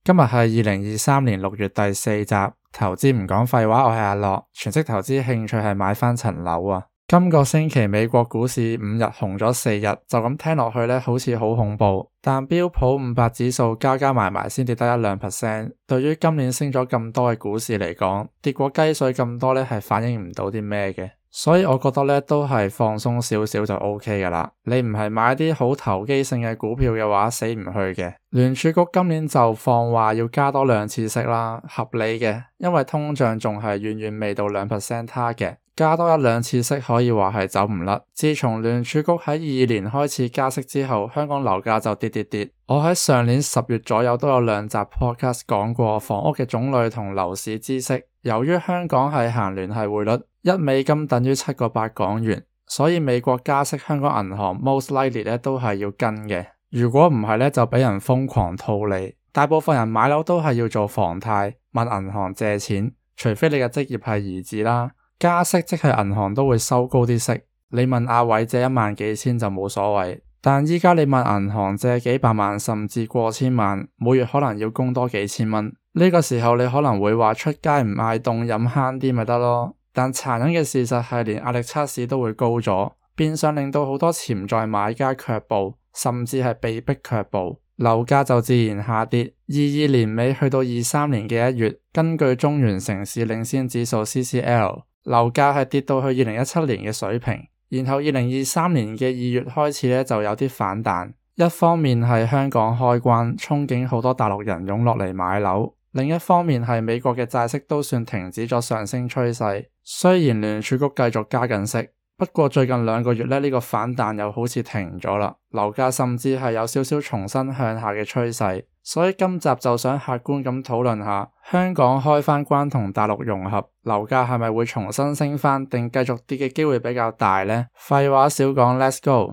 今日係2023年6月第4集，投資唔講廢話，我係阿樂，全職投資興趣係買返層樓啊。今個星期美國股市5日紅咗4日，就咁聽落去呢好似好恐怖，但標普500指數加埋先跌得1-2%，對於今年升咗咁多嘅股市嚟講，跌過雞碎咁多呢係反映唔到啲咩嘅。所以我覺得呢都係放鬆少少就 OK 噶啦。你唔係買啲好投機性嘅股票嘅話，死唔去嘅。聯儲局今年就放話要加多2次息啦，合理嘅，因為通脹仲係遠遠未到2% target，加多1-2次息可以話係走唔甩。自從聯儲局喺22年開始加息之後，香港樓價就跌。我喺上年10月左右都有2集 podcast 講過房屋嘅種類同樓市知識。由於香港係行聯繫匯率，1美金等於7個8港元，所以美國加息，香港銀行 most likely 咧都係要跟嘅。如果唔係咧，就俾人瘋狂套利。大部分人買樓都係要做房貸，問銀行借錢，除非你嘅職業係兒子啦。加息即係銀行都會收高啲息。你問阿偉借1萬幾千就冇所謂，但依家你問銀行借幾百萬甚至過千萬，每月可能要供多幾千蚊。呢個時候你可能會話出街唔嗌凍飲慳啲咪得咯，但殘忍嘅事實係連壓力測試都會高咗，變相令到好多潛在買家卻步，甚至係被逼卻步，樓價就自然下跌。22年尾去到23年嘅1月，根據中原城市領先指數 CCL， 樓價係跌到去2017年嘅水平，然後2023年嘅2月開始呢就有啲反彈。一方面係香港開關，憧憬好多大陸人湧落嚟買樓，另一方面係美國嘅債息都算停止咗上升趨勢，雖然聯儲局繼續加緊息，不過最近2個月呢個反彈又好似停咗啦，樓價甚至係有少少重新向下嘅趨勢。所以今集就想客觀咁討論下香港開返關同大陸融合，樓價係咪會重新升返，定繼續跌嘅機會比較大呢？廢話少講 ，Let's go！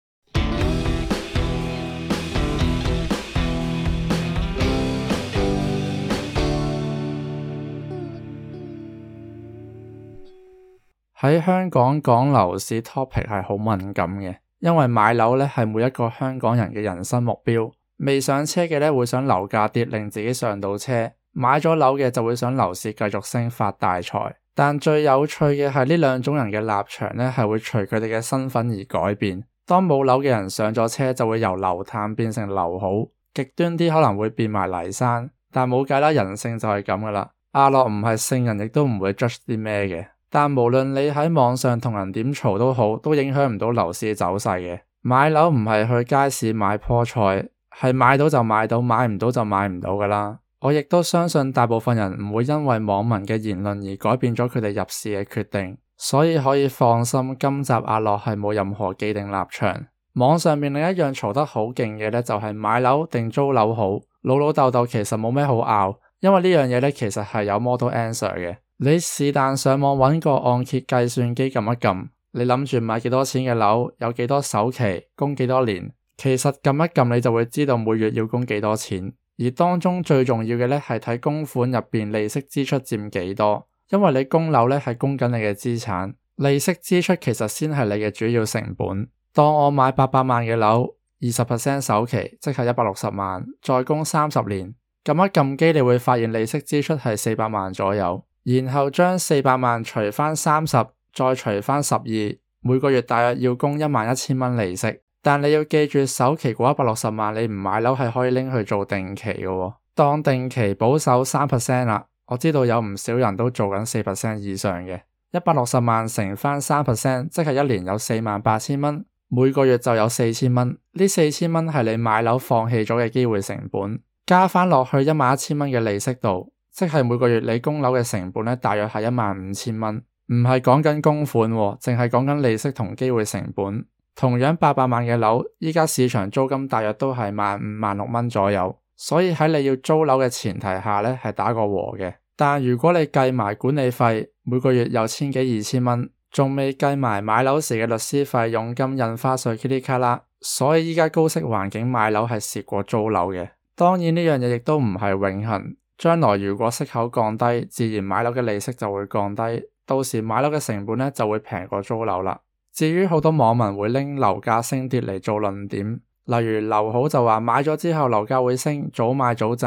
喺香港講樓市 topic 係好敏感嘅，因為買樓呢係每一個香港人嘅人生目標。未上車嘅呢會想樓價跌令自己上到車，買咗樓嘅就會想樓市繼續升發大財。但最有趣嘅係呢兩種人嘅立場呢係會隨佢哋嘅身份而改變。當冇樓嘅人上咗車就會由樓炭變成樓好，極端啲可能會變埋泥山，但冇計啦，人性就係咁噶啦。阿樂唔係聖人，亦都唔會 judge 啲咩嘅。但無論你喺網上同人點嘈都好，都影響唔到樓市走勢嘅。買樓唔係去街市買棵菜，係買到就買到，買唔到就買唔到噶啦。我亦都相信大部分人唔會因為網民嘅言論而改變咗佢哋入市嘅決定，所以可以放心，今集阿樂係冇任何既定立場。網上面另一樣嘈得好勁嘅呢，就係買樓定租樓好，老豆其實冇咩好拗，因為呢樣嘢呢其實係有 model answer 嘅。你是但上網揾個按揭計算機撳一撳，你諗住買幾多錢嘅樓，有幾多首期，供幾多年，其實撳一撳你就會知道每月要供幾多錢。而當中最重要嘅呢係睇供款入邊利息支出佔幾多，因為你供樓呢係供緊你嘅資產，利息支出其實先係你嘅主要成本。當我買800萬嘅樓，20% 首期即係160萬，再供30年，撳一撳機你會發現利息支出係400萬左右。然後將400萬除返30，再除返12，每個月大約要供11000蚊利息。但你要記住，首期嗰160萬你唔買樓係可以拎去做定期嘅喎，當定期保守 3% 啦。我知道有唔少人都做緊 4% 以上嘅，160萬乘返 3%， 即係1年有48000蚊，每個月就有4000蚊。呢4000蚊係你買樓放棄咗嘅機會成本，加返落去11000蚊嘅利息度。即係每個月你供樓嘅成本呢，大約係15000蚊，唔係講緊供款喎，淨係講緊利息同機會成本。同樣800萬嘅樓，依家市場租金大約都係15000-16000蚊左右，所以喺你要租樓嘅前提下呢，係打個和嘅。但如果你計埋管理費，每個月有千幾2000蚊，仲未計埋買樓時嘅律師費、佣金、印花稅、噼里卡啦，所以依家高息環境買樓係蝕過租樓嘅。當然呢樣嘢亦都唔係永恆。將來如果息口降低，自然買樓嘅利息就會降低，到時買樓嘅成本呢就會平過租樓啦。至於好多網民會拎樓價升跌嚟做論點，例如樓好就話買咗之後樓價會升，早買早賺，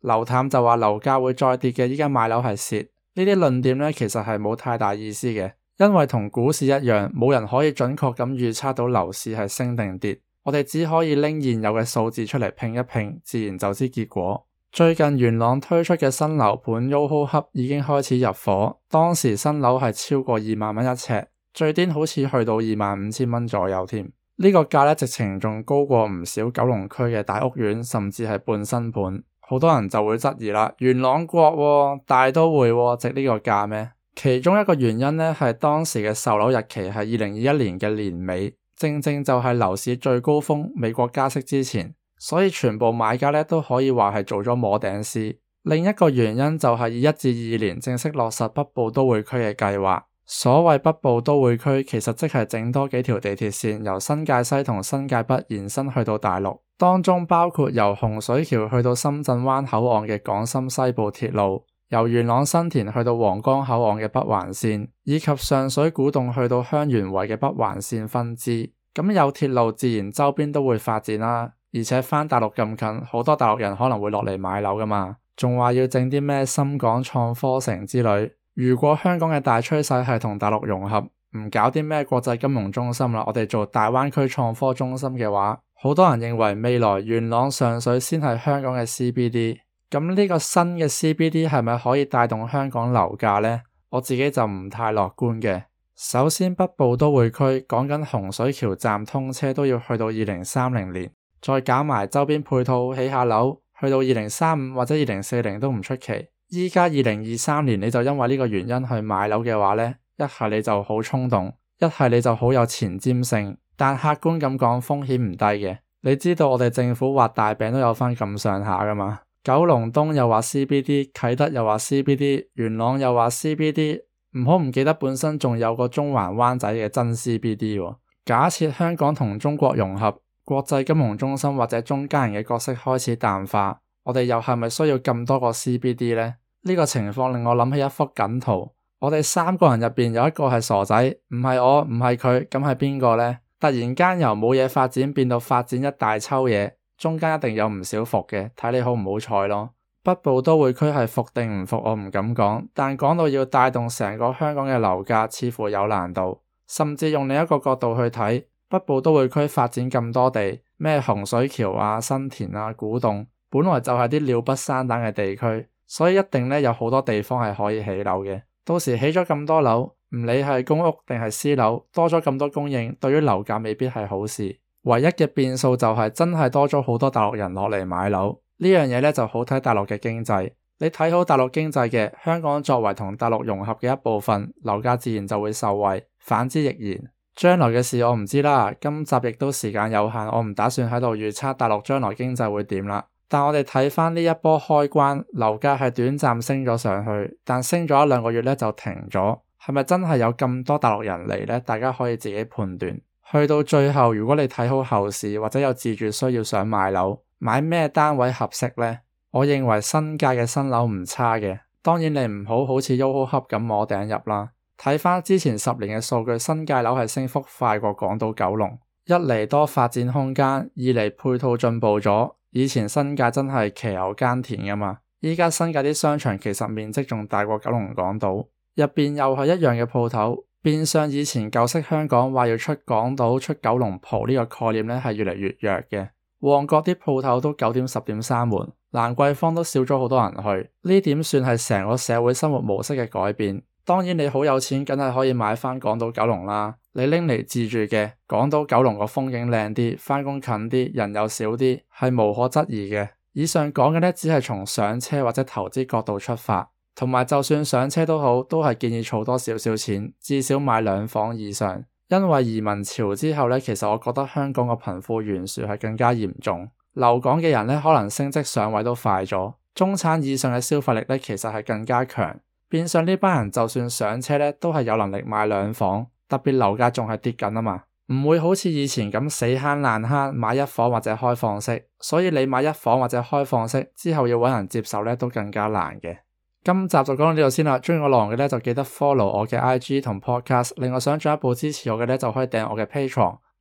樓淡就話樓價會再跌嘅，依家買樓係蝕。呢啲論點呢，其實係冇太大意思嘅，因為同股市一樣，冇人可以準確咁預測到樓市係升定跌，我哋只可以拎現有嘅數字出嚟拼一拼，自然就知結果。最近元朗推出嘅新樓盤 YOHO Hub 已經開始入伙，當時新樓係超過2萬蚊一尺，最癲好似去到25000蚊左右添。呢個價呢，直情仲高過唔少九龍區嘅大屋苑，甚至係半新盤。好多人就會質疑啦，元朗國喎，大都會喎，值呢個價咩？其中一個原因呢，係當時嘅售樓日期係2021年嘅年尾，正正就係樓市最高峰，美國加息之前，所以全部買家呢都可以話係做咗摸頂師。另一個原因就係21至22年正式落實北部都會區嘅計劃。所謂北部都會區其實即係整多幾條地鐵線，由新界西同新界北延伸去到大陸，當中包括由洪水橋去到深圳灣口岸嘅港深西部鐵路，由元朗新田去到皇崗口岸嘅北環線，以及上水古洞去到香園圍嘅北環線分支。咁有鐵路自然周邊都會發展啦，而且返大陸咁近，好多大陸人可能會落嚟買樓㗎嘛，仲話要整啲咩深港創科城之類。如果香港嘅大趨勢係同大陸融合，唔搞啲咩國際金融中心啦，我哋做大灣區創科中心嘅話，好多人認為未來元朗上水先係香港嘅 CBD。咁呢個新嘅 CBD 係咪可以帶動香港樓價呢？我自己就唔太樂觀嘅。首先北部都會區講緊洪水橋站通車都要去到2030年，再搞埋周邊配套起下樓，去到2035或者2040都唔出奇。依家2023年你就因為呢個原因去買樓嘅話呢，一係你就好衝動，一係你就好有前瞻性，但客觀咁講風險唔低嘅。你知道我哋政府畫大餅都有返咁上下㗎嘛？九龍東又話 CBD， 啟德又話 CBD， 元朗又話 CBD， 唔好唔記得本身仲有個中環灣仔嘅真 CBD 喎。假設香港同中國融合，國際金融中心或者中間人嘅角色開始淡化，我哋又係咪需要咁多個 CBD 呢？呢個情況令我諗起一幅緊圖，我哋3個人入邊有一個係傻仔，唔係我，唔係佢，咁係邊個呢？突然間由冇嘢發展變到發展一大抽嘢，中間一定有唔少伏嘅，睇你好唔好彩咯。北部都會區係伏定唔伏我唔敢講，但講到要帶動成個香港嘅樓價似乎有難度。甚至用另一個角度去睇，北部都會區發展咁多地，咩洪水橋啊、新田啊、古洞，本來就係啲鳥不生蛋嘅地區，所以一定呢有好多地方係可以起樓嘅。到時起咗咁多樓，唔理係公屋定係私樓，多咗咁多供應，對於樓價未必係好事。唯一嘅變數就係真係多咗好多大陸人落嚟買樓，呢樣嘢呢就好睇大陸嘅經濟。你睇好大陸經濟嘅，香港作為同大陸融合嘅一部分，樓價自然就會受惠，反之亦然。將來嘅事我唔知啦，今集亦都時間有限，我唔打算喺度預測大陸將來經濟會點啦。但我哋睇返呢一波開關，樓價係短暫升咗上去，但升咗1-2個月呢就停咗，係咪真係有咁多大陸人嚟呢？大家可以自己判斷。去到最後，如果你睇好後市或者有自住需要想買樓，買咩單位合適呢？我認為新界嘅新樓唔差嘅，當然你唔好似 YOHO Hub 咁摸頂入啦。睇返之前10年嘅數據，新界樓係升幅快過港島九龍，一嚟多發展空間，二嚟配套進步咗。以前新界真係騎牛耕田㗎嘛，依家新界啲商場其實面積仲大過九龍港島，入邊又係一樣嘅鋪頭，變相以前舊式香港話要出港島出九龍蒲呢個概念呢係越嚟越弱嘅。旺角啲鋪頭都9點10點閂門，蘭桂坊都少咗好多人去，呢點算係成個社會生活模式嘅改變。當然你好有錢梗係可以買返港島九龍啦，你拎嚟自住嘅，港島九龍個風景靚啲，返工近啲，人又少啲，係無可質疑嘅。以上講嘅呢，只係從上車或者投資角度出發，同埋就算上車都好，都係建議儲多少少錢，至少買2房以上。因為移民潮之後呢，其實我覺得香港個貧富懸殊係更加嚴重，留港嘅人呢，可能升職上位都快咗，中產以上嘅消費力呢，其實係更加強。變相呢班人就算上車呢，都係有能力買2房，特別樓價仲係跌緊啊嘛，唔會好似以前咁死慳爛慳買1房或者開放式，所以你買1房或者開放式之後要搵人接受呢，都更加難嘅。今集就講到呢度先啦，鍾意我內容嘅呢，就記得 follow 我嘅 IG 同 podcast，另外想進一步支持我嘅呢，就可以訂我嘅 Patreon，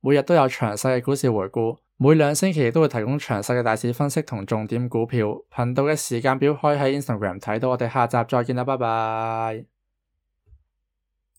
每日都有詳細嘅股市回顧，每2星期都會提供詳細嘅大市分析同重點股票。頻道嘅時間表可以喺 Instagram 睇到。我哋下集再見啦，拜拜。